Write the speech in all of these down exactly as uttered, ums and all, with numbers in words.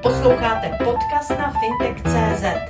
Posloucháte podcast na fintech tečka cé zet.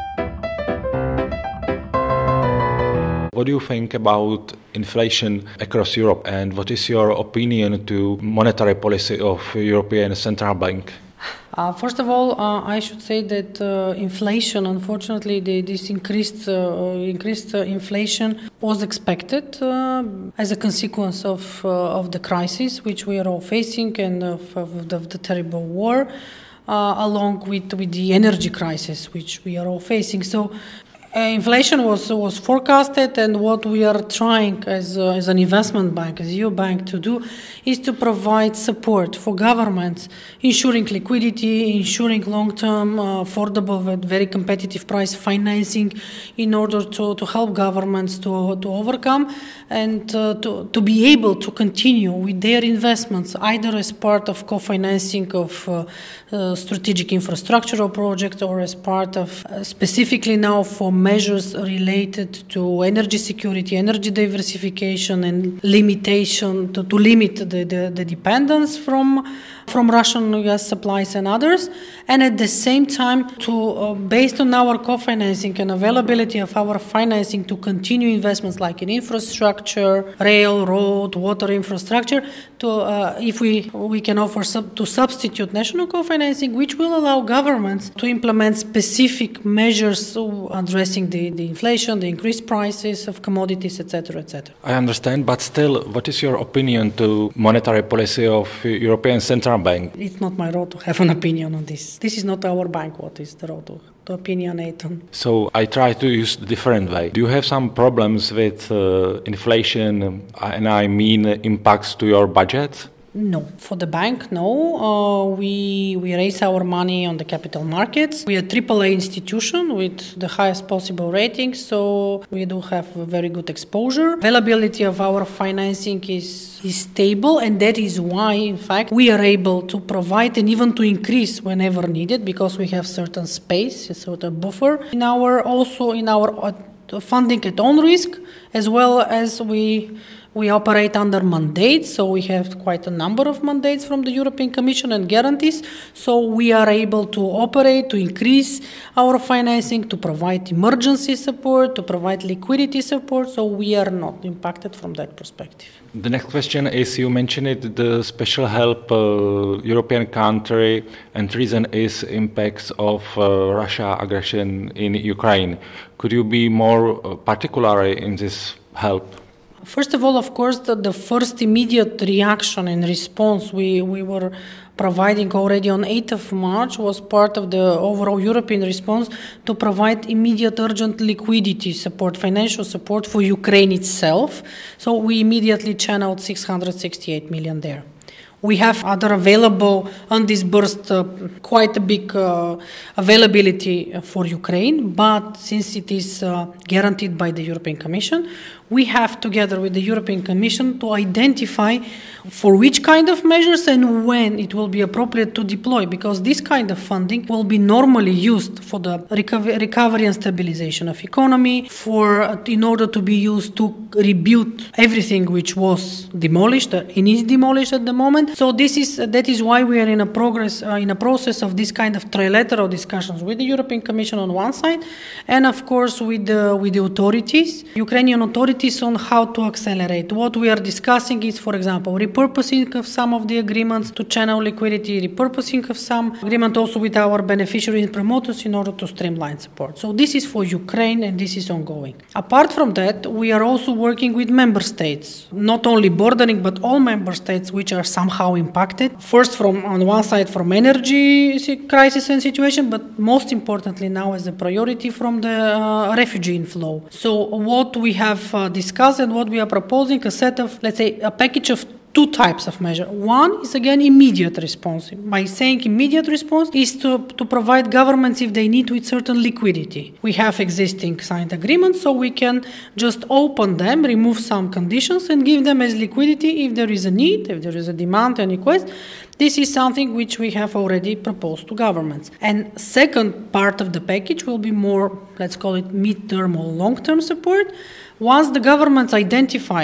What do you think about inflation across Europe, and what is your opinion to monetary policy of European Central Bank? Uh, first of all, uh, I should say that uh, inflation, unfortunately, the, this increased uh, increased uh, inflation was expected uh, as a consequence of uh, of the crisis which we are all facing and of, of, the, of the terrible war, uh, along with with the energy crisis which we are all facing. So. Uh, inflation was was forecasted, and what we are trying as uh, as an investment bank, as E U bank, to do is to provide support for governments, ensuring liquidity, ensuring long-term, uh, affordable, at very competitive price financing, in order to, to help governments to to overcome and uh, to to be able to continue with their investments, either as part of co-financing of uh, uh, strategic infrastructural projects or as part of uh, specifically now for measures related to energy security, energy diversification, and limitation to, to limit the, the, the dependence from from Russian gas supplies and others, and at the same time to uh, based on our co-financing and availability of our financing to continue investments like in infrastructure, rail, road, water infrastructure, to uh, if we we can offer sub, to substitute national co-financing, which will allow governments to implement specific measures addressing the, the inflation, the increased prices of commodities, et cetera, et cetera. I understand, but still, what is your opinion to monetary policy of European Central Bank? It's not my role to have an opinion on this. This is not our bank. What is the role to, to opinionate on? So I try to use a different way. Do you have some problems with uh, inflation, and I mean impacts to your budget? No. For the bank, no. Uh, we we raise our money on the capital markets. We are a triple A institution with the highest possible rating, so we do have a very good exposure. Availability of our financing is, is stable, and that is why, in fact, we are able to provide and even to increase whenever needed, because we have certain space, a certain buffer in our also in our uh, funding at own risk, as well as we. We operate under mandates, so we have quite a number of mandates from the European Commission and guarantees. So we are able to operate, to increase our financing, to provide emergency support, to provide liquidity support. So we are not impacted from that perspective. The next question is, you mentioned it, the special help uh, European country, and reason is impacts of uh, Russia aggression in Ukraine. Could you be more uh, particular in this help? First of all, of course, the, the first immediate reaction and response we, we were providing already on eighth of March was part of the overall European response to provide immediate urgent liquidity support, financial support for Ukraine itself. So we immediately channeled six hundred sixty-eight million there. We have other available undisbursed, uh, quite a big uh, availability for Ukraine, but since it is uh, guaranteed by the European Commission, we have, together with the European Commission, to identify for which kind of measures and when it will be appropriate to deploy, because this kind of funding will be normally used for the recover- recovery and stabilization of economy, for uh, in order to be used to rebuild everything which was demolished uh, and is demolished at the moment. So this is uh, that is why we are in a progress uh, in a process of this kind of trilateral discussions with the European Commission on one side, and of course with the with the authorities, Ukrainian authorities, on how to accelerate. What we are discussing is, for example, repurposing of some of the agreements to channel liquidity, repurposing of some agreement also with our beneficiaries and promoters in order to streamline support. So this is for Ukraine, and this is ongoing. Apart from that, we are also working with member states, not only bordering, but all member states which are somehow impacted. First, from on one side, from energy crisis and situation, but most importantly now as a priority from the uh, refugee inflow. So what we have uh, discussed and what we are proposing, a set of, let's say, a package of two types of measure. One is, again, immediate response. By saying immediate response is to, to provide governments if they need with certain liquidity. We have existing signed agreements, so we can just open them, remove some conditions, and give them as liquidity if there is a need, if there is a demand and request. This is something which we have already proposed to governments. And second part of the package will be more, let's call it mid-term or long-term support. Once the governments identify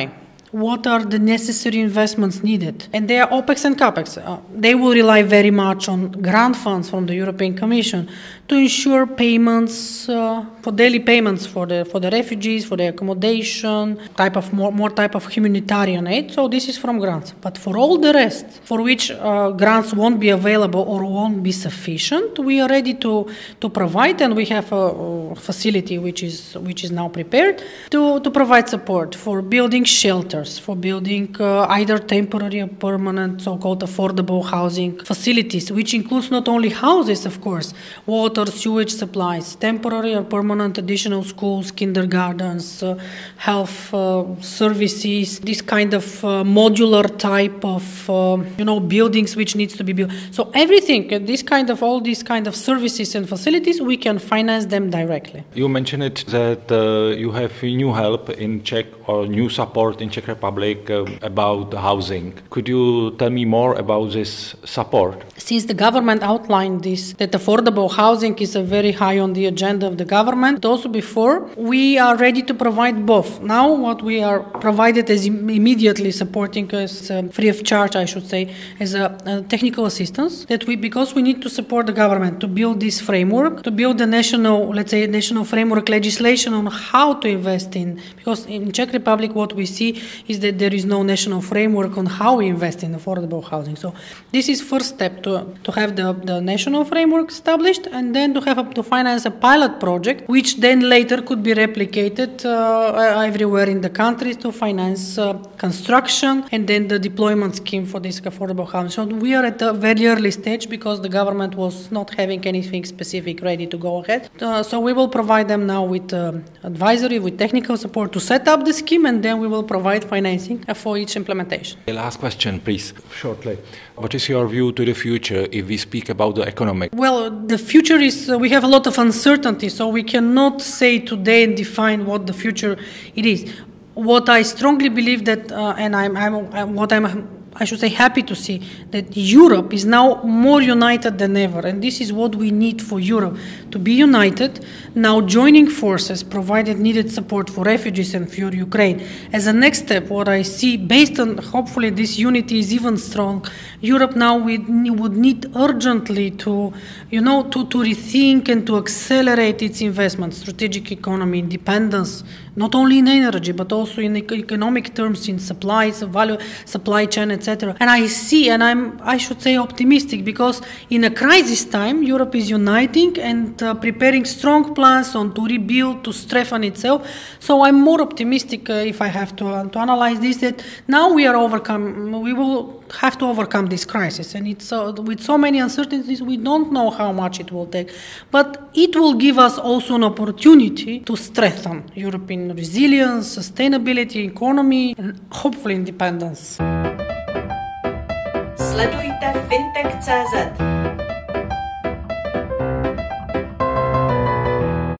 what are the necessary investments needed. And they are OPEX and CAPEX. Uh, they will rely very much on grant funds from the European Commission to ensure payments, uh, for daily payments for the for the refugees, for the accommodation, type of more, more type of humanitarian aid. So this is from grants. But for all the rest, for which uh, grants won't be available or won't be sufficient, we are ready to, to provide, and we have a, a facility which is which is now prepared to, to provide support for building shelters, for building uh, either temporary or permanent so-called affordable housing facilities, which includes not only houses, of course, water, sewage supplies, temporary or permanent additional schools, kindergartens, uh, health uh, services, this kind of uh, modular type of uh, you know buildings which needs to be built. So everything, uh, this kind of all these kind of services and facilities, we can finance them directly. You mentioned it that uh, you have new help in Czech or new support in Czech Republic uh, about housing. Could you tell me more about this support? Since the government outlined this, that affordable housing is a very high on the agenda of the government, also before, we are ready to provide both. Now what we are provided is im- immediately supporting us, uh, free of charge, I should say, as a, a technical assistance, that we, because we need to support the government to build this framework, to build the national, let's say, national framework legislation on how to invest in, because in Czech Republic what we see is that there is no national framework on how we invest in affordable housing. So this is first step to, to have the, the national framework established, and then to have a, to finance a pilot project, which then later could be replicated uh, everywhere in the country to finance uh, construction and then the deployment scheme for this affordable housing. So we are at a very early stage because the government was not having anything specific ready to go ahead. Uh, so we will provide them now with uh, advisory, with technical support to set up the scheme, and then we will provide financing for each implementation. The last question, please, shortly. What is your view to the future if we speak about the economic? Well, the future is, uh, we have a lot of uncertainty, so we cannot say today and define what the future it is. What I strongly believe that, uh, and I'm, I'm, I'm, what I'm, I should say, happy to see, that Europe is now more united than ever, and this is what we need for Europe, to be united, now joining forces, provided needed support for refugees and for Ukraine. As a next step, what I see, based on hopefully this unity is even strong, Europe now would need urgently to, you know, to, to rethink and to accelerate its investment, strategic economy, independence, not only in energy, but also in economic terms, in supplies, value, supply chain, et cetera. And I see, and I'm, I should say, optimistic, because in a crisis time, Europe is uniting and uh, preparing strong plans on to rebuild, to strengthen itself. So I'm more optimistic, uh, if I have to, uh, to analyze this, that now we are overcome, we will have to overcome this crisis. And it's uh, with so many uncertainties, we don't know how much it will take. But it will give us also an opportunity to strengthen European resilience, sustainability, economy, and hopefully independence. Sledujte fintech tečka cé zet.